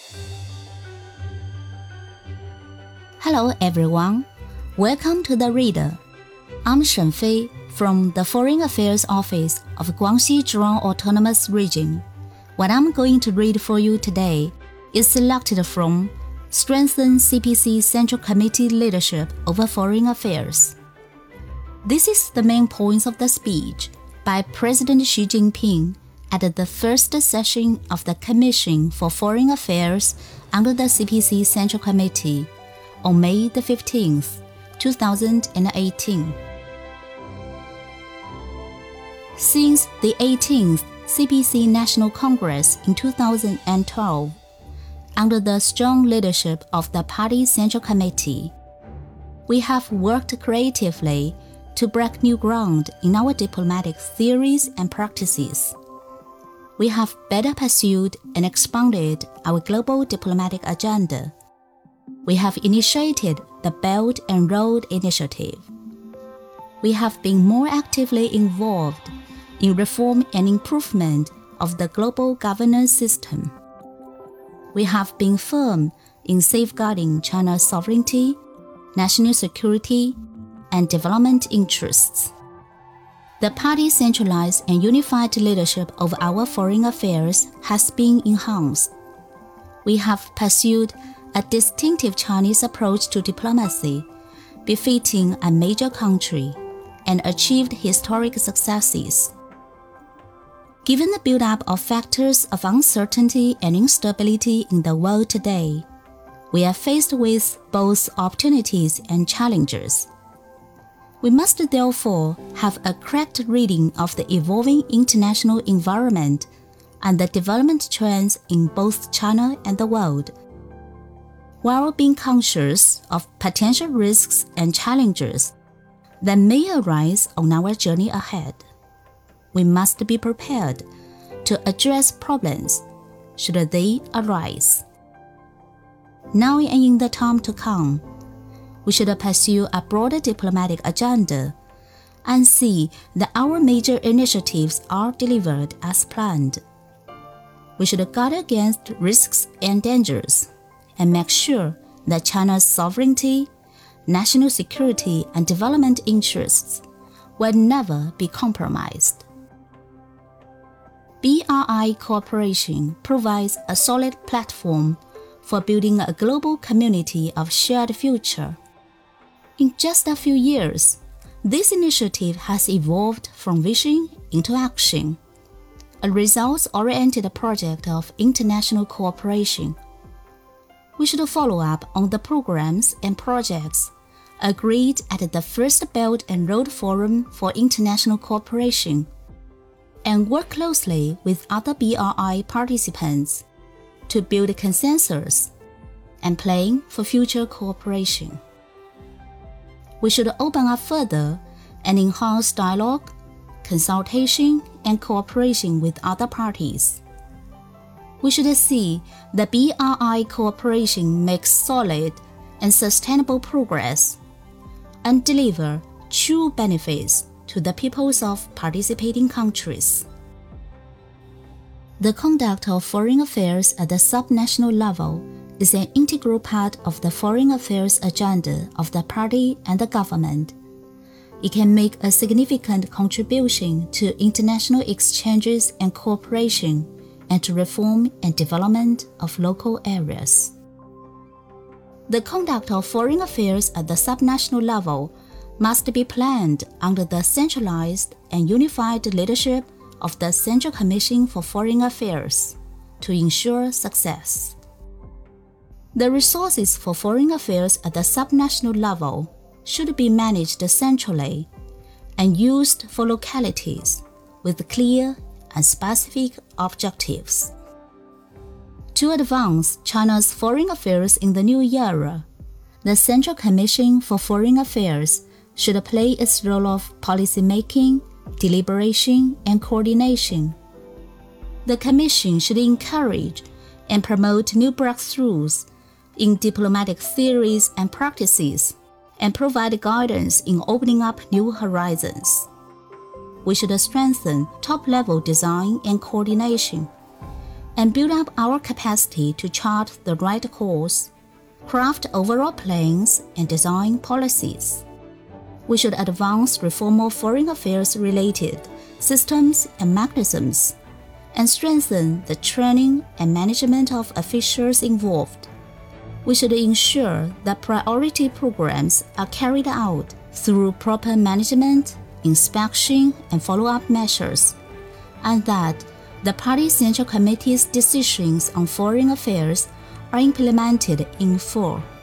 Hello everyone, welcome to The Reader. I'm Shen Fei from the Foreign Affairs Office of Guangxi Zhuang Autonomous Region. What I'm going to read for you today is selected from Strengthen CPC Central Committee Leadership over Foreign Affairs. This is the main points of the speech by President Xi Jinping at the first session of the Commission for Foreign Affairs under the CPC Central Committee on May the 15th, 2018. Since the 18th CPC National Congress in 2012, under the strong leadership of the Party Central Committee, we have worked creatively to break new ground in our diplomatic theories and practices. We have better pursued and expanded our global diplomatic agenda. We have initiated the Belt and Road Initiative. We have been more actively involved in reform and improvement of the global governance system. We have been firm in safeguarding China's sovereignty, national security, and development interests. The Party's centralized and unified leadership of our foreign affairs has been enhanced. We have pursued a distinctive Chinese approach to diplomacy, befitting a major country, and achieved historic successes. Given the build-up of factors of uncertainty and instability in the world today, we are faced with both opportunities and challenges. We must therefore have a correct reading of the evolving international environment and the development trends in both China and the world, while being conscious of potential risks and challenges that may arise on our journey ahead. We must be prepared to address problems should they arise. Now and in the time to come, we should pursue a broader diplomatic agenda and see that our major initiatives are delivered as planned. We should guard against risks and dangers and make sure that China's sovereignty, national security, and development interests will never be compromised. BRI cooperation provides a solid platform for building a global community of shared future. In just a few years, this initiative has evolved from vision into action, a results-oriented project of international cooperation. We should follow up on the programs and projects agreed at the first Belt and Road Forum for International Cooperation, and work closely with other BRI participants to build consensus and plan for future cooperation. We should open up further and enhance dialogue, consultation, and cooperation with other parties. We should see that BRI cooperation makes solid and sustainable progress and deliver true benefits to the peoples of participating countries. The conduct of foreign affairs at the subnational level is an integral part of the foreign affairs agenda of the party and the government. It can make a significant contribution to international exchanges and cooperation and to reform and development of local areas. The conduct of foreign affairs at the subnational level must be planned under the centralized and unified leadership of the Central Commission for Foreign Affairs to ensure success. The resources for foreign affairs at the subnational level should be managed centrally and used for localities with clear and specific objectives. To advance China's foreign affairs in the new era, the Central Commission for Foreign Affairs should play its role of policymaking, deliberation, and coordination. The Commission should encourage and promote new breakthroughs in diplomatic theories and practices, and provide guidance in opening up new horizons. We should strengthen top-level design and coordination, and build up our capacity to chart the right course, craft overall plans, and design policies. We should advance reform of foreign affairs-related systems and mechanisms, and strengthen the training and management of officials involved. We should ensure that priority programs are carried out through proper management, inspection, and follow-up measures, and that the Party Central Committee's decisions on foreign affairs are implemented in full.